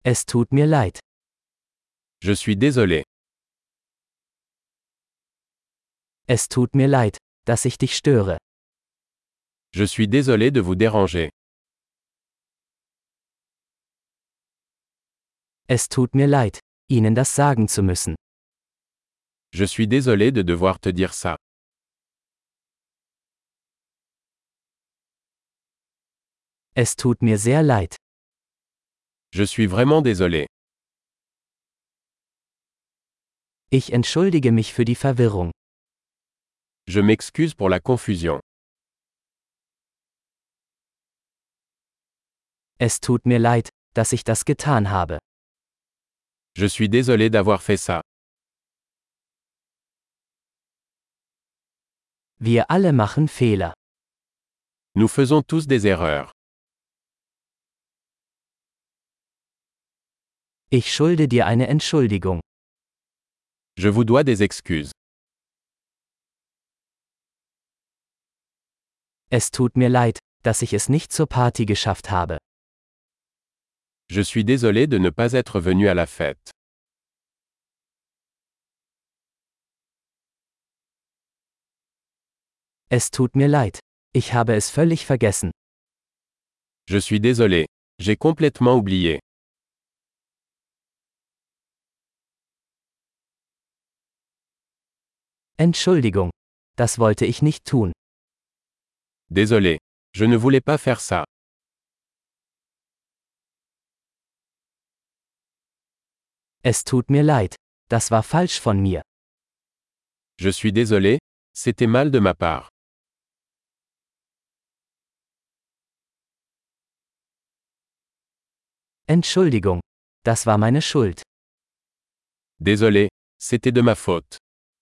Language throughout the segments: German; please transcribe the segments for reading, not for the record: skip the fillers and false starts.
Es tut mir leid. Je suis désolé. Es tut mir leid, dass ich dich störe. Je suis désolé de vous déranger. Es tut mir leid, Ihnen das sagen zu müssen. Je suis désolé de devoir te dire ça. Es tut mir sehr leid. Je suis vraiment désolé. Ich entschuldige mich für die Verwirrung. Je m'excuse pour la confusion. Es tut mir leid, dass ich das getan habe. Je suis désolé d'avoir fait ça. Wir alle machen Fehler. Nous faisons tous des erreurs. Ich schulde dir eine Entschuldigung. Je vous dois des excuses. Es tut mir leid, dass ich es nicht zur Party geschafft habe. Je suis désolé de ne pas être venu à la fête. Es tut mir leid. Ich habe es völlig vergessen. Je suis désolé. J'ai complètement oublié. Entschuldigung. Das wollte ich nicht tun. Désolé. Je ne voulais pas faire ça. Es tut mir leid. Das war falsch von mir. Je suis désolé. C'était mal de ma part. Entschuldigung. Das war meine Schuld. Désolé. C'était de ma faute.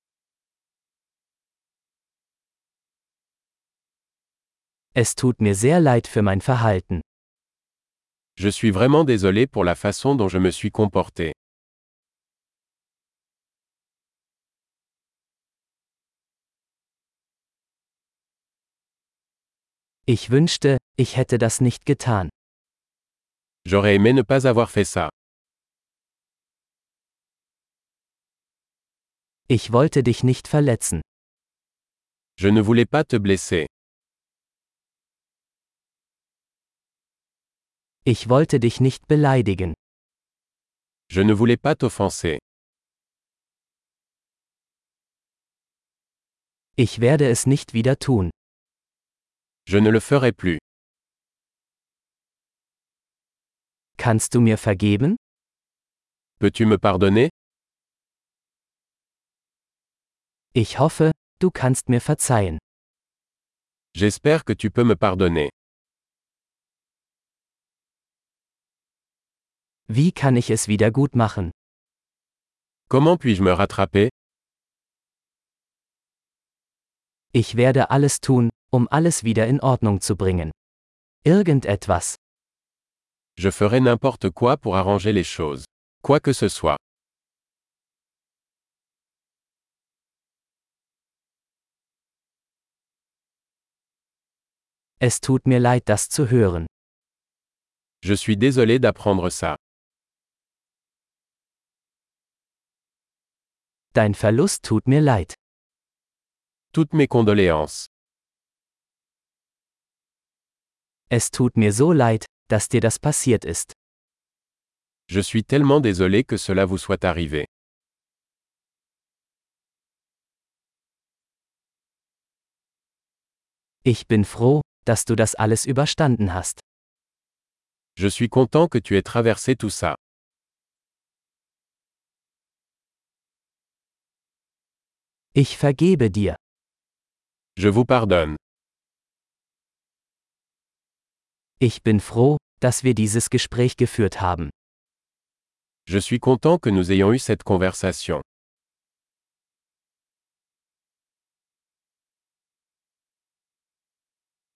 Es tut mir sehr leid für mein Verhalten. Je suis vraiment désolé pour la façon dont je me suis comporté. Ich wünschte, ich hätte das nicht getan. J'aurais aimé ne pas avoir fait ça. Ich wollte dich nicht verletzen. Je ne voulais pas te blesser. Ich wollte dich nicht beleidigen. Je ne voulais pas t'offenser. Ich werde es nicht wieder tun. Je ne le ferai plus. Kannst du mir vergeben? Peux-tu me pardonner? Ich hoffe, du kannst mir verzeihen. J'espère que tu peux me pardonner. Wie kann ich es wieder gut machen? Comment puis-je me rattraper? Ich werde alles tun, um alles wieder in Ordnung zu bringen. Irgendetwas. Je ferai n'importe quoi pour arranger les choses. Quoi que ce soit. Es tut mir leid, das zu hören. Je suis désolé d'apprendre ça. Dein Verlust tut mir leid. Toutes mes condoléances. Es tut mir so leid, dass dir das passiert ist. Je suis tellement désolé que cela vous soit arrivé. Ich bin froh, dass du das alles überstanden hast. Je suis content que tu aies traversé tout ça. Ich vergebe dir. Je vous pardonne. Ich bin froh, dass wir dieses Gespräch geführt haben. Je suis content que nous ayons eu cette conversation.